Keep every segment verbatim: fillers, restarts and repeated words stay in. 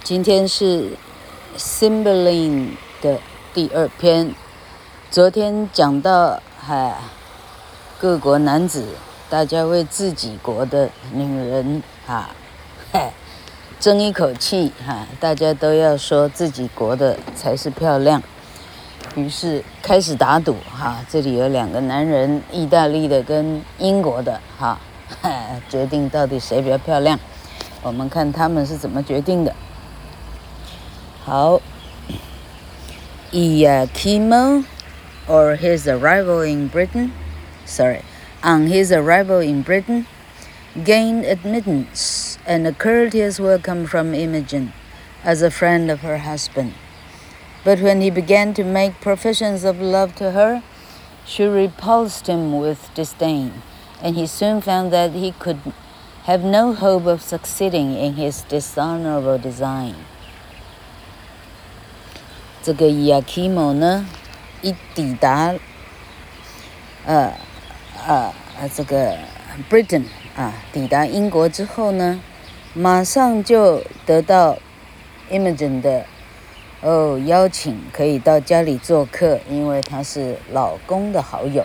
今天是 Cymbeline 的第二篇。昨天講到，嗨，各國男子，大家為自己國的女人啊，嗨，爭一口氣哈，大家都要說自己國的才是漂亮。於是開始打賭哈，這裡有兩個男人，意大利的跟英國的哈，決定到底誰比較漂亮。我們看他們是怎麼決定的。好 Iachimo, or his arrival in Britain, sorry, on his arrival in Britain, gained admittance and a courteous welcome from Imogen as a friend of her husband. But when he began to make professions of love to her, she repulsed him with disdain, and he soon found that he could have no hope of succeeding in his dishonorable design. 這個 Iachimo 呢，一抵達，呃呃這個 Britain 啊，抵達英國之後呢，馬上就得到 Imogen 的哦邀請，可以到家裡做客，因為他是老公的好友。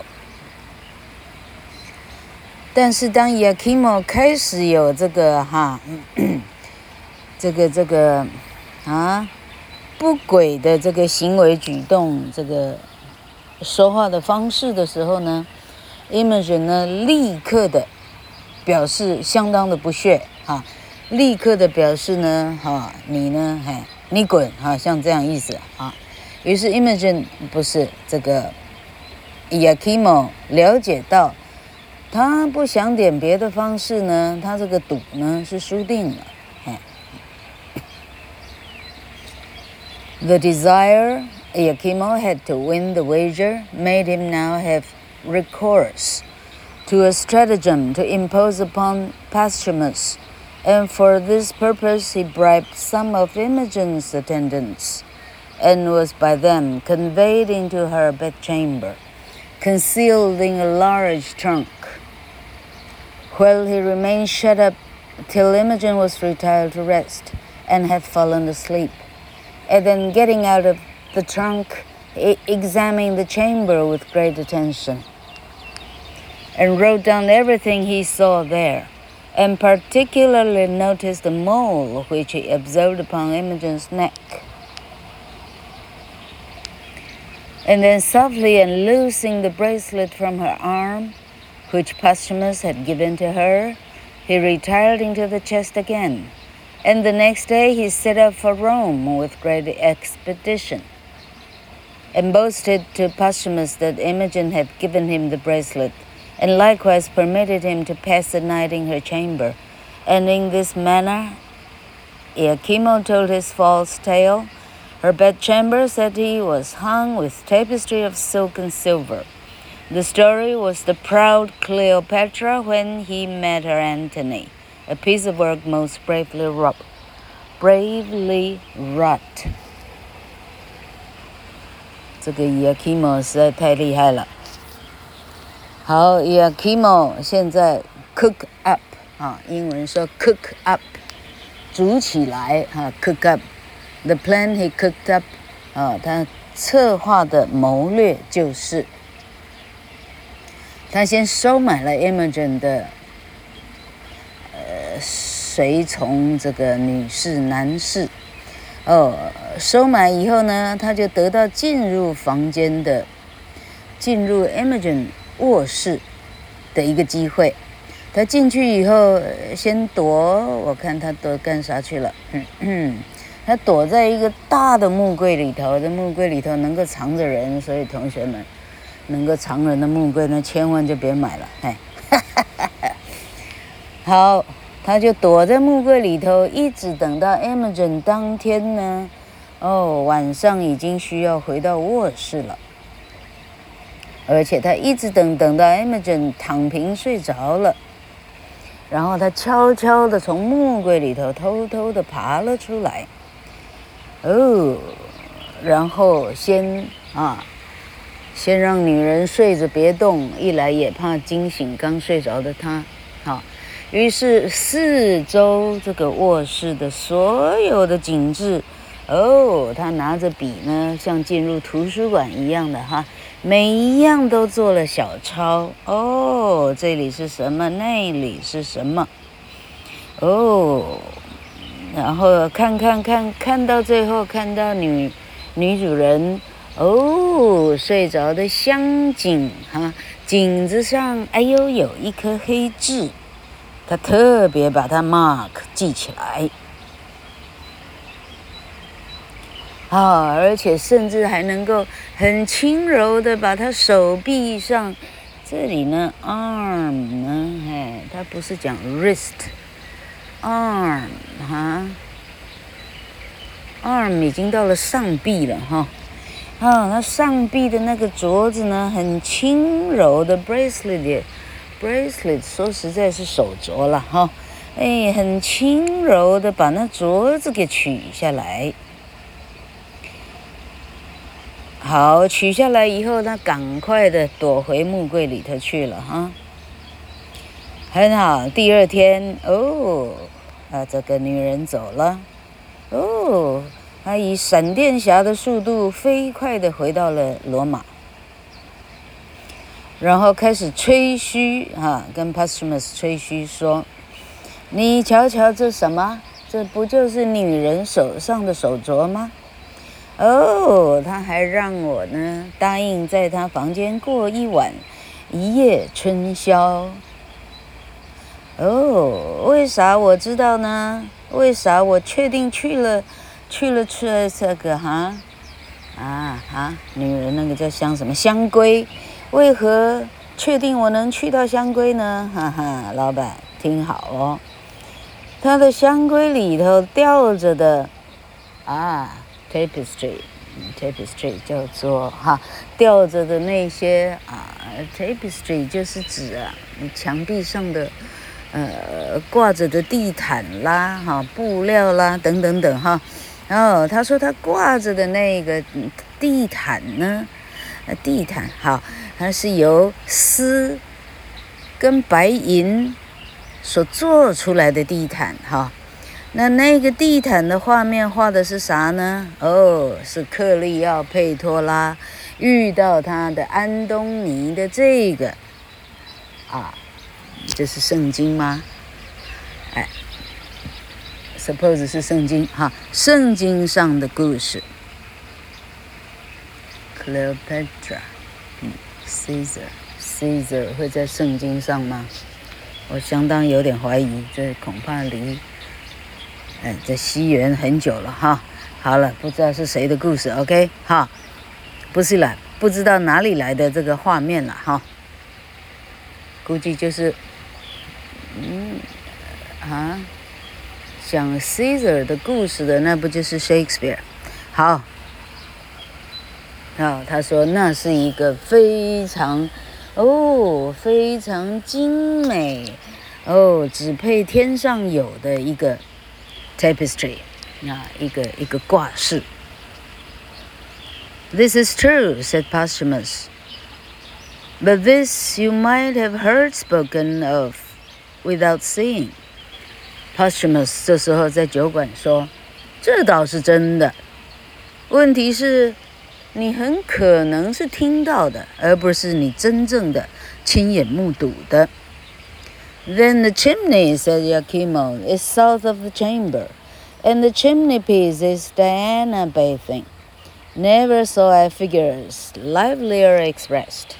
但是當 Iachimo 開始有這個哈，這個這個啊不軌的這個行為舉動，這個說話的方式的時候呢 ，Imogen 呢立刻的表示相當的不屑啊，立刻的表示呢，哈、啊，你呢，嘿，你滾啊，像這樣意思啊。於是 Imogen 不是這個 Iachimo 了解到。他不想點別的方式呢，他這個賭呢是輸定了。The desire Iachimo had to win the wager made him now have recourse to a stratagem to impose upon Posthumus, and for this purpose he bribed some of Imogen's attendants, and was by them conveyed into her bedchamber, concealed in a large trunk.While he remained shut up till Imogen was retired to rest and had fallen asleep, and then getting out of the trunk, he examined the chamber with great attention, and wrote down everything he saw there, and particularly noticed the mole which he observed upon Imogen's neck. And then softly unloosing the bracelet from her arm,which Posthumus had given to her, he retired into the chest again, and the next day he set out for Rome with great expedition, and boasted to Posthumus that Imogen had given him the bracelet, and likewise permitted him to pass the night in her chamber. And in this manner Iachimo told his false tale. Her bedchamber, said he, was hung with tapestry of silk and silver.The story was the proud Cleopatra when he met her Antony, a piece of work most bravely wrought. Bravely wrought. 這個 Iachimo 實在太厲害了。好 ，Iachimo 現在 cook up 啊，英文說 cook up， 煮起來啊 ，cook up。The plan he cooked up 啊，他策劃的謀略就是。他先收買了 Imogen 的呃隨從這個女士男士，哦，收買以後呢，他就得到進入房間的進入 Imogen 臥室的一個機會。他進去以後先躲，我看他躲幹啥去了？嗯嗯，他躲在一個大的木櫃裡頭，這木櫃裡頭能夠藏着人，所以同學們。能夠藏人的木櫃呢，千萬就別買了，哎，好，他就躲在木櫃裡頭，一直等到 Imogen 當天呢，哦，晚上已經需要回到臥室了，而且他一直等等到 Imogen 躺平睡着了，然後他悄悄地從木櫃裡頭偷偷地爬了出來，哦，然後先啊。先讓女人睡着別動，一來也怕驚醒剛睡着的她，好， 於是四周這個臥室的所有的景致，哦，他拿着筆呢，像進入圖書館一樣的哈，每一樣都做了小抄。哦，這裡是什麼？那裡是什麼？哦，然後看看看，看到最後，看到女女主人哦睡着的香井哈，頸子上哎呦有一顆黑痣。他特別把它 mark 記起來，啊，而且甚至還能夠很輕柔的把他手臂上，這裡呢 arm 呢，哎，他不是講 wrist，arm 哈 ，arm 已經到了上臂了哈，啊，那上臂的那個鐲子呢，很輕柔的 bracelet。bracelet 說實在是手鐲了哈，哎，很輕柔的把那鐲子給取下來。好，取下來以後，他趕快的躲回木櫃裡頭去了哈。很好，第二天哦，啊，這個女人走了，哦，她以閃電俠的速度飛快的回到了羅馬。然後開始吹噓哈，跟 Posthumus 吹噓說：“你瞧瞧這什麼？這不就是女人手上的手鐲嗎？哦，他還讓我呢答應在他房間過一晚，一夜春宵。哦，為啥我知道呢？為啥我確定去了，去了去了這個哈啊啊，女人那個叫香什麼香龜。”為何確定我能去到香龜呢？哈哈，老闆聽好哦，他的香龜裡頭吊着的啊 tapestry，tapestry 叫做哈吊着的那些啊 tapestry 就是指啊牆壁上的呃掛着的地毯啦哈布料啦等等等哈，然後他說他掛着的那個地毯呢，地毯好。它是由絲跟白銀所做出來的地毯哈，那那個地毯的畫面畫的是啥呢？哦，是克利奧佩托拉遇到他的安東尼的這個啊，這是聖經嗎？哎 ，suppose 是聖經哈，聖經上的故事 ，Cleopatra。Caesar Caesar 會在聖經上嗎？我相當有點懷疑，這恐怕離哎這西元很久了哈。好了，不知道是誰的故事 ，OK 哈，不是啦，不知道哪裡來的這個畫面了哈，估計就是嗯啊講 Caesar 的故事的，那不就是 Shakespeare？ 好。啊，他說那是一個非常，哦，非常精美，哦，只配天上有的一個 tapestry， 啊，一個一個掛飾。This is true, said Posthumus. But this you might have heard spoken of without seeing. Posthumus 這時候在酒館說，這倒是真的。問題是。你很可能是聽到的，而不是你真正的親眼目睹的。Then the chimney, said Iachimo, is south of the chamber, and the chimney piece is Diana bathing. Never saw I figures livelier expressed.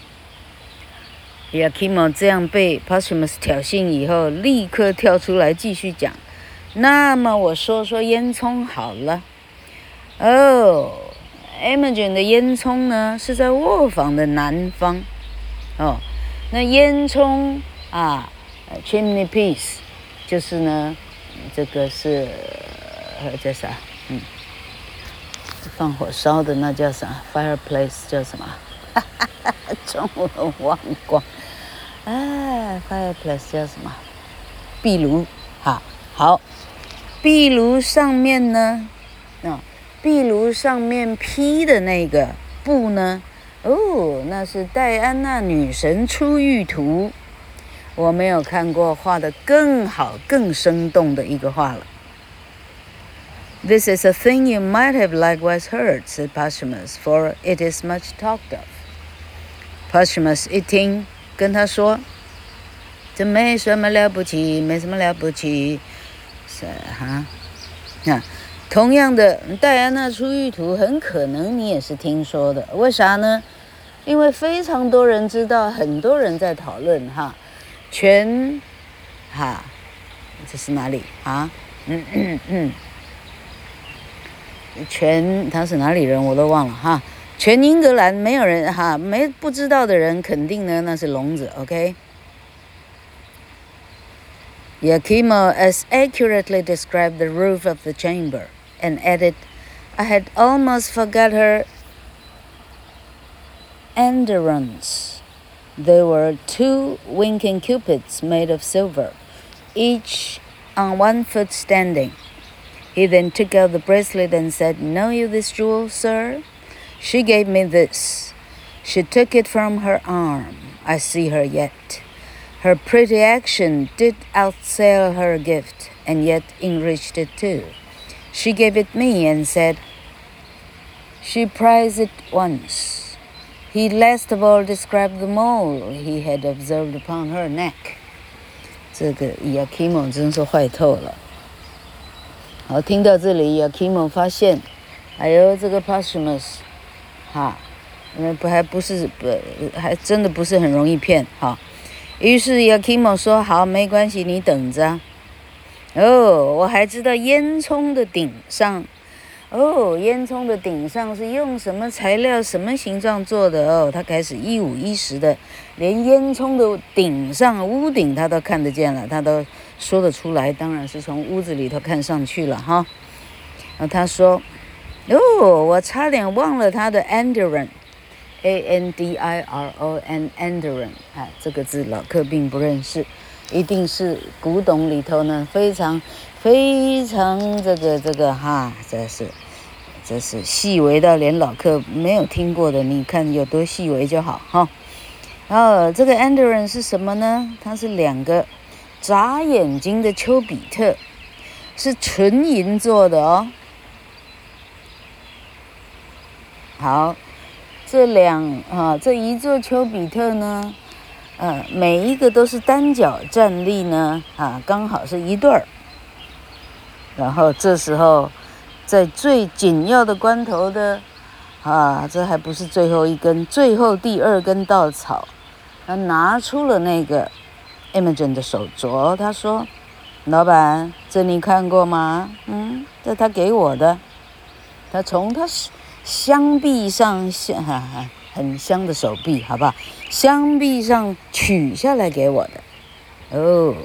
Iachimo 這樣被 Posthumus 挑釁以後，立刻跳出來繼續講。那麼我說說煙囪好了。哦。Imogen 的煙囪呢是在臥房的南方，哦，那煙囪啊 ，chimney piece 就是呢，這個是呃叫啥？嗯，放火燒的那叫啥 ？fireplace 叫什麼？哈哈哈，中文忘光。哎 ，fireplace 叫什麼？壁爐。好，好，壁爐上面呢，啊。壁爐上面披的那個布呢？哦，那是戴安娜女神出浴圖。 我沒有看過畫得更好、更生動的一個畫了。This is a thing you might have likewise heard, said Posthumus, for it is much talked of. Posthumus 一聽，跟他說，這沒什麼了不起，沒什麼了不起，是哈，那同樣的，戴安娜出獄圖很可能你也是聽說的，為啥呢？因為非常多人知道，很多人在討論哈，全哈，這是哪裡啊？嗯嗯嗯。全他是哪裡人我都忘了哈，全英格蘭沒有人哈，沒不知道的人肯定呢那是聾子 ，OK。Iachimo as accurately described the roof of the chamber and added, "I had almost forgot her andirons. There were two winking cupids made of silver, each on one foot standing."He then took out the bracelet and said, "Know you this jewel, sir? She gave me this. She took it from her arm. I see her yet. Her pretty action did outsail her gift, and yet enriched it too. She gave it me and said, she prized it once." He last of all described the mole he had observed upon her neck. 這個 Iachimo 真是壞透了。好，聽到這裡 ，Iachimo 發現，哎呦，這個 Posthumus， 哈，因為不還不是不，還真的不是很容易騙，哈。於是 Iachimo 說：“好，沒關係，你等着。哦，我還知道煙囪的頂上，哦，煙囪的頂上是用什麼材料、什麼形狀做的哦。他開始一五一十的，連煙囪的頂上、屋頂他都看得見了，他都。”說得出來，當然是從屋子裡頭看上去了哈。然後他說：“哦，我差點忘了他的 andiron，A N D I R O N andiron， 啊，這個字老客並不認識，一定是古董裡頭呢非常非常這個這個哈，這是這是細微到連老客沒有聽過的，你看有多細微就好哈。然後這個 andiron 是什麼呢？它是兩個。”眨眼睛的丘比特是純銀做的哦。好，這兩啊這一座丘比特呢，呃，每一個都是單腳站立呢，啊，剛好是一對兒。然後這時候，在最緊要的關頭的，啊，這還不是最後一根，最後第二根稻草，他拿出了那個。Imogen 的手鐲，他說：“老闆，這你看過嗎？嗯，這他給我的，他從他香臂上，香哈哈，很香的手臂，好不好？香臂上取下來給我的。哦，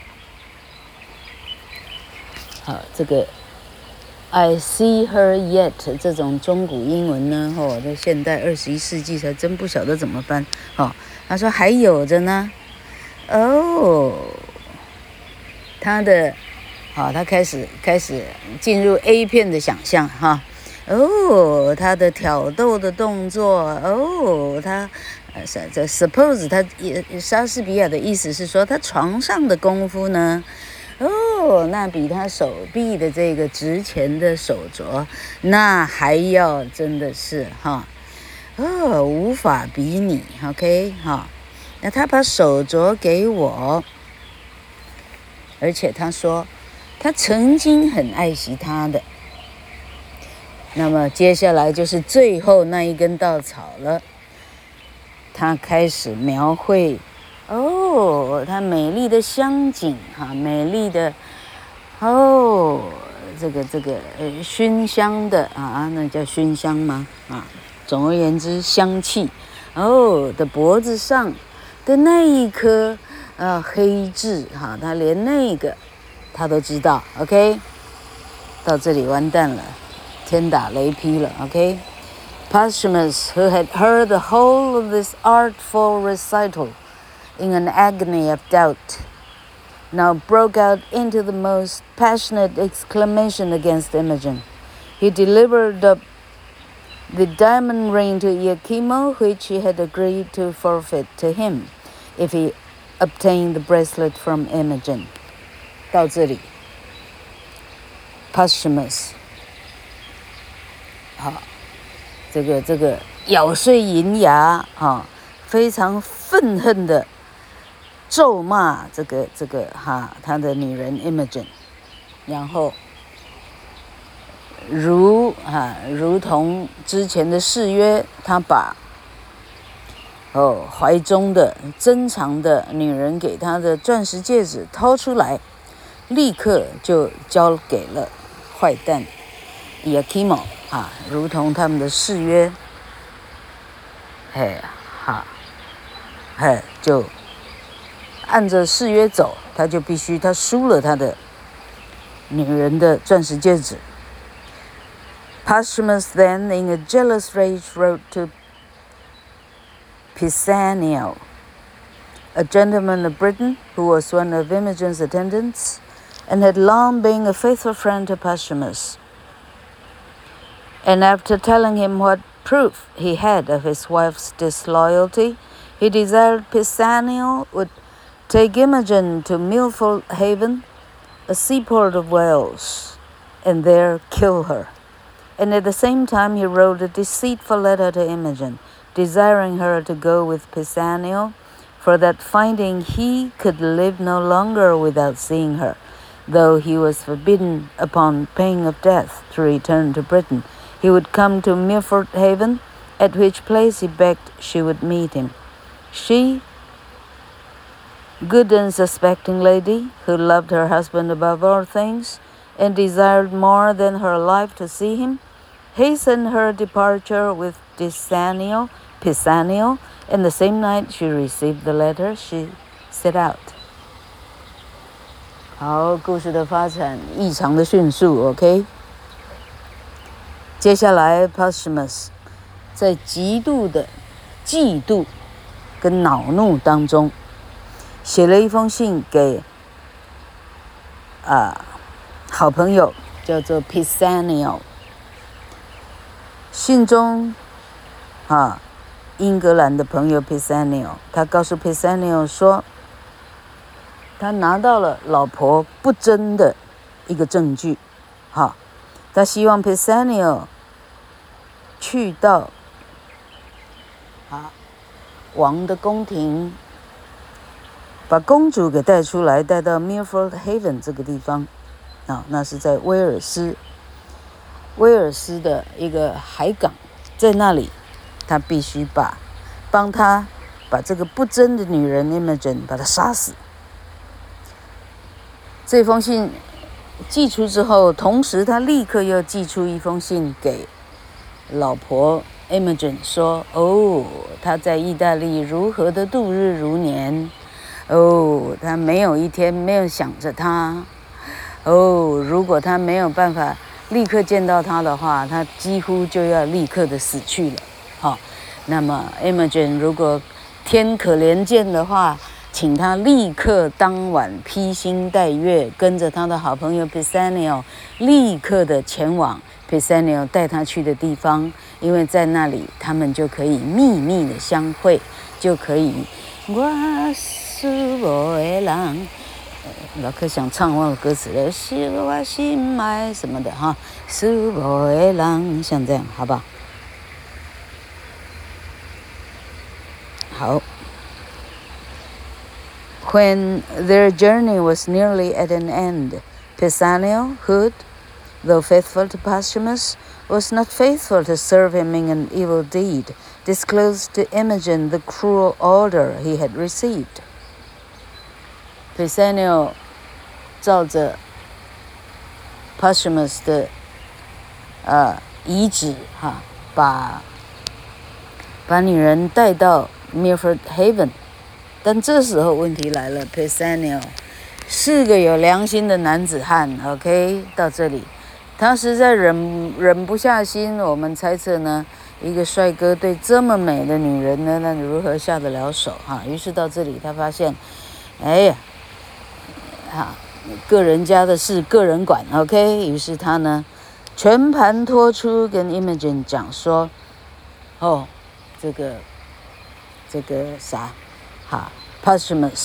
好，這個 I see her yet 這種中古英文呢，哦，在現代二十一世紀才真不曉得怎麼翻。哦，他說還有着呢。”哦，他的，好，他開始開始進入 A 片的想象哈。哦，他的挑逗的動作，哦，他，呃，這 suppose 他莎士比亞的意思是說，他床上的功夫呢，哦，那比他手臂的這個值錢的手鐲，那還要真的是哈，哦，無法比擬 ，OK 哈。那他把手鐲給我，而且他說他曾經很愛惜他的。那麼接下來就是最後那一根稻草了，他開始描繪哦，他美麗的香景哈，美麗的哦，這個這個呃熏香的啊，那叫熏香嗎？啊，總而言之香氣哦的脖子上。的那一顆呃黑痣哈，他連那個他都知道 ，OK， 到這裡完蛋了，天打雷劈了 ，OK。Posthumus, who had heard the whole of this artful recital in an agony of doubt, now broke out into the most passionate exclamation against Imogen. He delivered up the diamond ring to Iachimo, which he had agreed to forfeit to him, if he obtain the bracelet from Imogen. 到這裡 Posthumus 好，這個這個咬碎銀牙啊，非常憤恨的咒罵這個這個哈他的女人 Imogen， 然後如啊如同之前的誓約，他把哦懷中的珍藏的女人給他的鑽石戒指掏出來，立刻就交給了壞蛋 Iachimo 啊，如同他們的誓約，嘿哈，嘿就按着誓約走，他就必須他輸了他的女人的鑽石戒指。Posthumus then, in a jealous rage, wrote to Pisanio, a gentleman of Britain who was one of Imogen's attendants and had long been a faithful friend to Posthumus. And after telling him what proof he had of his wife's disloyalty, he desired Pisanio would take Imogen to Milford Haven, a seaport of Wales, and there kill her. And at the same time he wrote a deceitful letter to Imogen, desiring her to go with Pisanio, for that finding he could live no longer without seeing her, though he was forbidden upon pain of death to return to Britain, he would come to Milford Haven, at which place he begged she would meet him. She, good and suspecting lady, who loved her husband above all things, and desired more than her life to see him, hastened her departure with Pisanio, Pisanio, and the same night she received the letter, she set out. 好，故事的发展異常的迅速 ，OK。接下來 Posthumus 在極度的嫉妒跟惱怒當中，寫了一封信給啊好朋友，叫做 Pisanio。信中啊，英格蘭的朋友 Pisanio， 他告訴 Pisanio 說，他拿到了老婆不貞的一個證據，哈，他希望 Pisanio 去到啊王的宮廷，把公主給帶出來，帶到 Milford Haven 這個地方，啊，那是在威爾斯。威爾斯的一個海港，在那裡，他必須把幫他把這個不貞的女人 Imogen 把她殺死。這封信寄出之後，同時他立刻又寄出一封信給老婆 Imogen 說：“哦，他在意大利如何的度日如年，哦，他沒有一天沒有想着他，哦，如果他沒有辦法。”立刻見到他的話，他幾乎就要立刻的死去了。好，那麼 Imogen 如果天可憐見的話，請他立刻當晚披星戴月，跟着他的好朋友 Pisanio 立刻的前往 Pisanio 帶他去的地方，因為在那裡他們就可以秘密的相會，就可以我是我的人。老柯想唱忘了歌詞了，是我心愛什麼的哈，是我的人，像這樣，好不好？好。When their journey was nearly at an end, Pisanio, who, though faithful to Posthumus, was not faithful to serve him in an evil deed, disclosed to Imogen the cruel order he had received. Pisanio 照着 Posthumus 的呃遺旨哈，把把女人帶到 Milford Haven， 但這時候問題來了 ，Pisanio 是個有良心的男子漢 ，OK， 到這裡他實在忍忍不下心，我們猜測呢，一個帥哥對這麼美的女人呢，那如何下得了手哈？於是到這裡他發現，哎呀。啊，個人家的事個人管 ，OK。於是他呢，全盤托出，跟 Imogen 講說，哦，這個這個啥，哈 ，Posthumus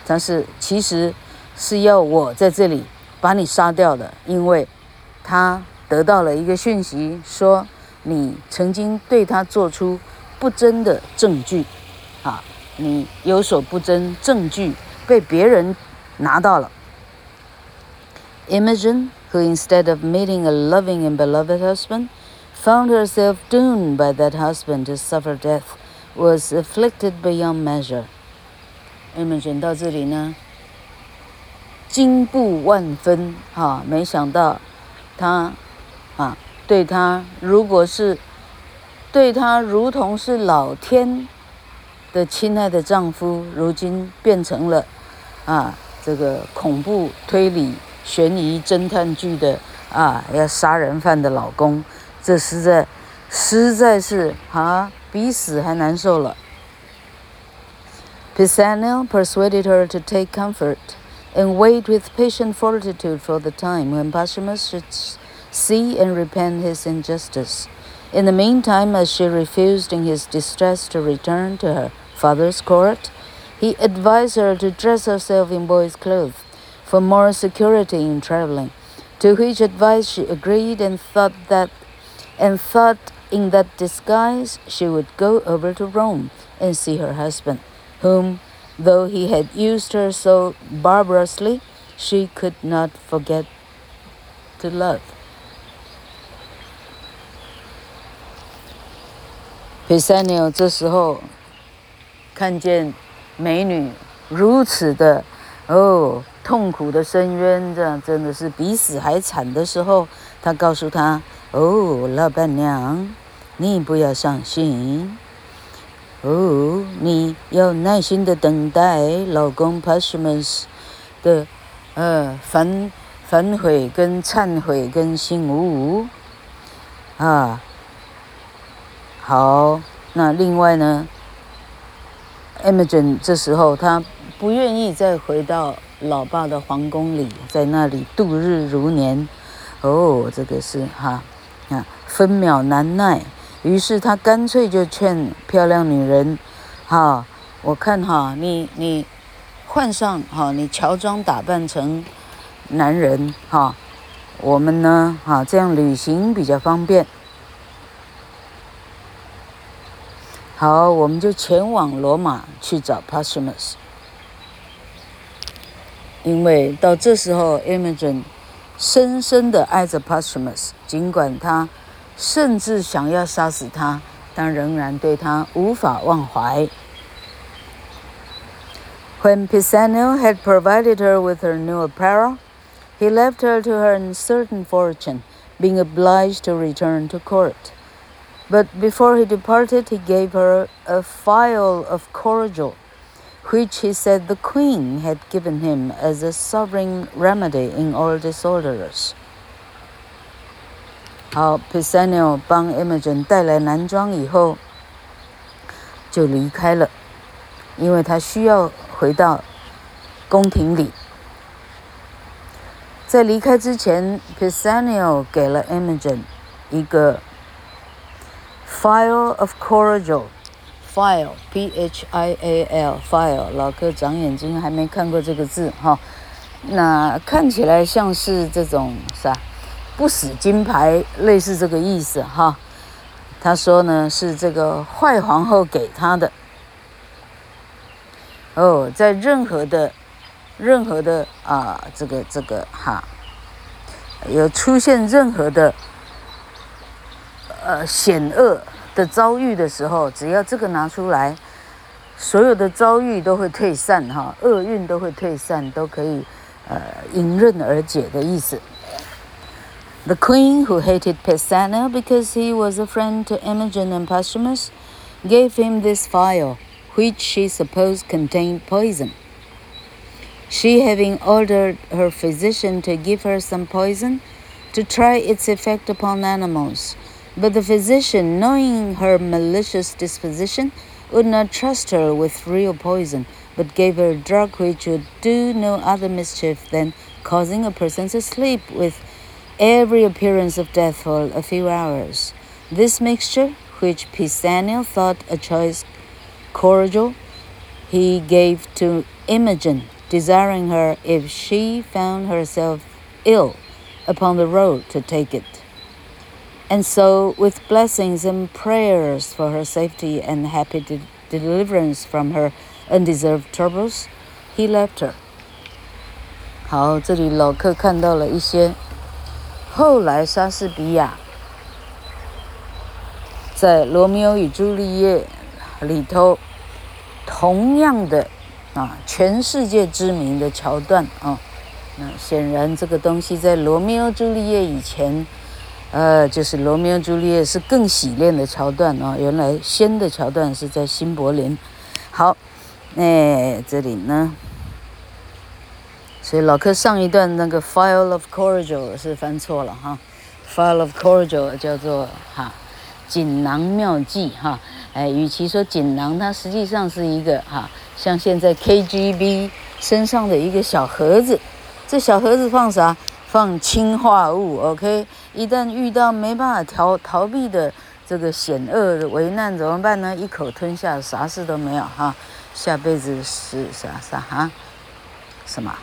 但是其實是要我在這裡把你殺掉的，因為他得到了一個訊息，說你曾經對他做出不真的證據，啊，你有所不真，證據被別人拿到了。Imogen, who instead of meeting a loving and beloved husband, found herself doomed by that husband to suffer death, was afflicted beyond measure. Imogen 到這裡呢，驚怖萬分，哈、啊，沒想到他啊，對他如果是對他如同是老天的親愛的丈夫，如今變成了啊，這個恐怖推理懸疑偵探劇的啊，要殺人犯的老公，這實在實在是啊，比死還難受了。Pisanio persuaded her to take comfort and wait with patient fortitude for the time when Posthumus should see and repent his injustice. In the meantime, as she refused in his distress to return to her father's court, he advised her to dress herself in boy's clothes for more security in traveling, to which advice she agreed and thought that and thought in that disguise she would go over to Rome and see her husband, whom, though he had used her so barbarously, she could not forget to love. Pisanio 這時候看見美女如此的哦痛苦的深淵，這樣真的是比死還慘的時候，他告訴她：“哦，老闆娘，你不要傷心。哦，你要耐心的等待老公 Posthumus 的呃反反悔跟懺悔跟醒悟啊。好，那另外呢 ，Imogen 這時候她不願意再回到老爸的皇宮裡，在那裡度日如年。哦，這個是哈啊，分秒難耐。於是他乾脆就勸漂亮女人，哈，我看哈，你你換上哈，你喬裝打扮成男人哈，我們呢哈這樣旅行比較方便。好，我們就前往羅馬去找 Posthumus。因為到這時候 Imogen 深深地愛着 Posthumus， 儘管他甚至想要殺死他，但仍然對他無法忘懷。When Pisanio had provided her with her new apparel, he left her to her uncertain fortune, being obliged to return to court. But before he departed, he gave her a phial of cordial, which he said the queen had given him as a sovereign remedy in all disorders. 好 ，Pisanio 幫 Imogen 帶來男裝以後，就離開了，因為他需要回到宮廷裡。在離開之前 ，Pisanio 給了 Imogen 一個 phial of cordial。File, P H I A L, file， 老柯長眼睛還沒看過這個字哈，那看起來像是這種啥不死金牌，類似這個意思哈。他說呢是這個壞皇後給他的。哦，在任何的任何的啊、呃、這個這個哈，有出現任何的呃險惡的遭遇的時候，只要這個拿出來，所有的遭遇都會退散哈，厄運都會退散，都可以呃迎刃而解的意思。The queen, who hated Pisanio because he was a friend to Imogen and Posthumus, gave him this phial, which she supposed contained poison. She, having ordered her physician to give her some poison to try its effect upon animals, but the physician, knowing her malicious disposition, would not trust her with real poison, but gave her a drug which would do no other mischief than causing a person to sleep with every appearance of death for a few hours. This mixture, which Pisanio thought a choice cordial, he gave to Imogen desiring her, if she found herself ill, upon the road to take it. And so, with blessings and prayers for her safety and happy de- deliverance from her undeserved troubles, he left her. 好，这裡老克看到了一些後來莎士比亞在《羅密歐與朱麗葉》裡頭同樣的啊，全世界知名的橋段啊。那顯然這個東西在《羅密歐朱麗葉》以前，呃，就是《羅密歐朱麗葉》是更洗練的橋段啊。原來先的橋段是在新柏林。好，那這裡呢？所以老柯上一段那個 Phial of Cordial 是翻錯了哈 ，Phial of Cordial 叫做哈錦囊妙計哈，哎，與其說錦囊，它實際上是一個哈，像現在 K G B 身上的一個小盒子，這小盒子放啥？放氰化物 ，OK？ 一旦遇到沒辦法逃逃避的這個險惡的危難怎麼辦呢？一口吞下，啥事都沒有哈，下輩子是啥啥哈？什麼？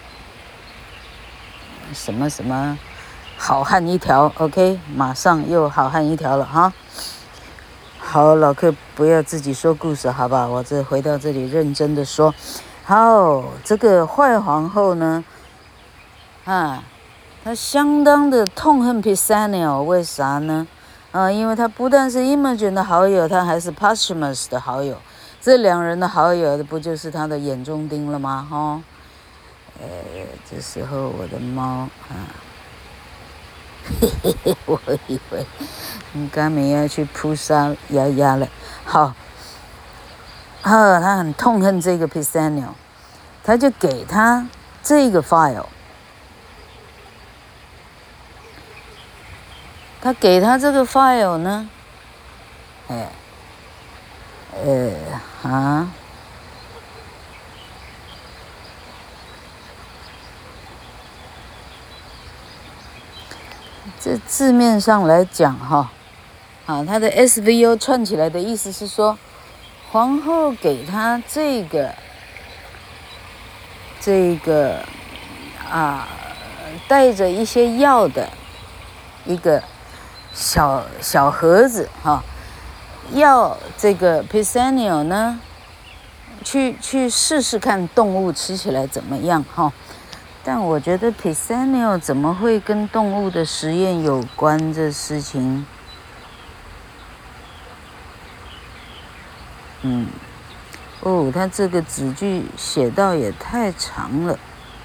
什麼什麼好漢一條 ，OK， 馬上又好漢一條了哈。好，老客不要自己說故事，好吧？我這回到這裡認真的說。好，這個壞皇後呢，啊，她相當的痛恨 Pisanio， 為啥呢？啊，因為她不但是 Imogen 的好友，她還是 Posthumus 的好友。這兩人的好友，不就是她的眼中釘了嗎？哈。呃，這時候我的貓啊，嘿嘿嘿，我以為你剛沒要去撲殺丫丫了。好，啊，他很痛恨這個 Pisanio， 他就給他這個 file， 他給他這個 file 呢，哎，呃，啊。這字面上來講哈，啊，他的 S V O 串起來的意思是說，皇後給他這個這個啊，帶着一些藥的一個小小盒子哈，要這個 Pisanio 呢，去去試試看動物吃起來怎麼樣哈。但我覺得 Pisanio 怎麼會跟動物的實驗有關這事情？嗯，哦，他這個子句寫到也太長了。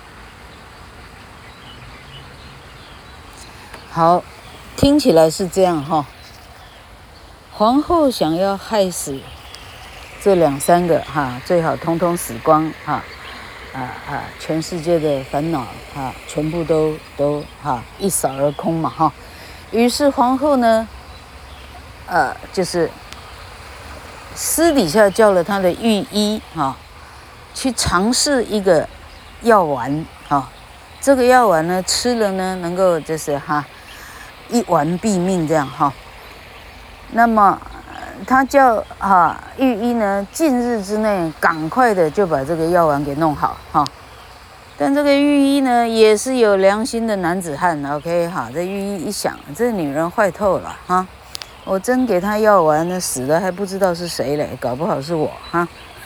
好，聽起來是這樣哈。皇後想要害死這兩三個哈，最好通通死光哈。啊啊！全世界的煩惱啊，全部都都哈、啊、一掃而空嘛哈。於是皇後呢，呃，就是私底下叫了她的御醫啊，去嘗試一個藥丸啊。這個藥丸呢，吃了呢，能夠就是哈、啊、一丸斃命這樣哈、啊。那麼。他叫哈御醫呢，近日之內趕快的就把這個藥丸給弄好哈。但這個御醫呢，也是有良心的男子漢 ，OK 哈。這御醫一想，這女人壞透了哈，我真給她藥丸呢，死了還不知道是誰嘞，搞不好是我哈。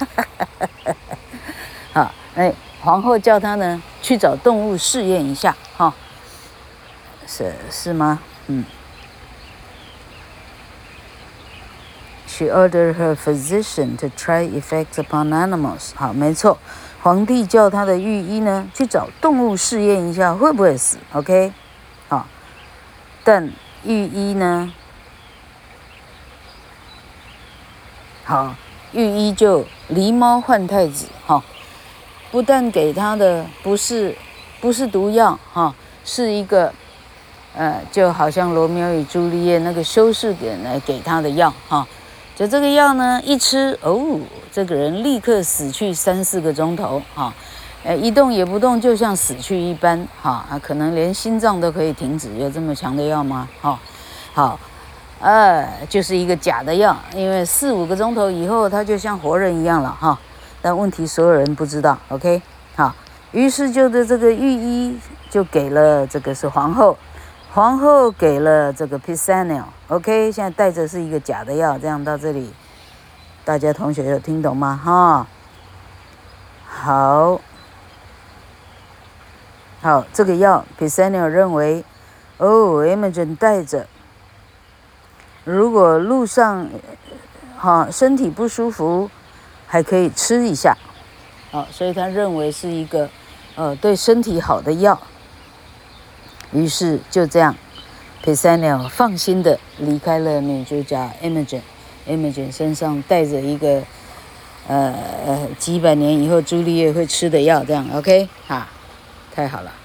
好，哎，皇後叫他呢去找動物試驗一下哈，是是嗎？嗯。She ordered her physician to try effects upon animals。好，沒錯，皇帝叫他的御醫呢去找動物試驗一下會不會死。OK， 好，但御醫呢，好，御醫就狸貓換太子哈，不但給他的不是不是毒藥哈，是一個呃，就好像羅密歐與朱麗葉那個修士給來給他的藥哈。就這個藥呢，一吃哦，這個人立刻死去三四個鐘頭哈，呃，一動也不動，就像死去一般哈，啊，可能連心臟都可以停止，有這麼強的藥嗎？哈，好，呃，就是一個假的藥，因為四五個鐘頭以後，他就像活人一樣了哈。但問題所有人不知道 ，OK， 好， 於是就的這個御醫就給了這個是皇後，皇後給了這個 Pisanio。OK， 現在帶着是一個假的藥，這樣到這裡，大家同學有聽懂嗎？哈，好，好，這個藥 Pisanio 認為，哦 Imogen 帶着，如果路上哈身體不舒服，還可以吃一下，好，所以他認為是一個。呃，對身體好的藥，於是就這樣 ，Pisanio 放心的離開了女主角 Imogen，Imogen 身上帶着一個呃呃幾百年以後朱麗葉會吃的藥，這樣 OK 哈，太好了。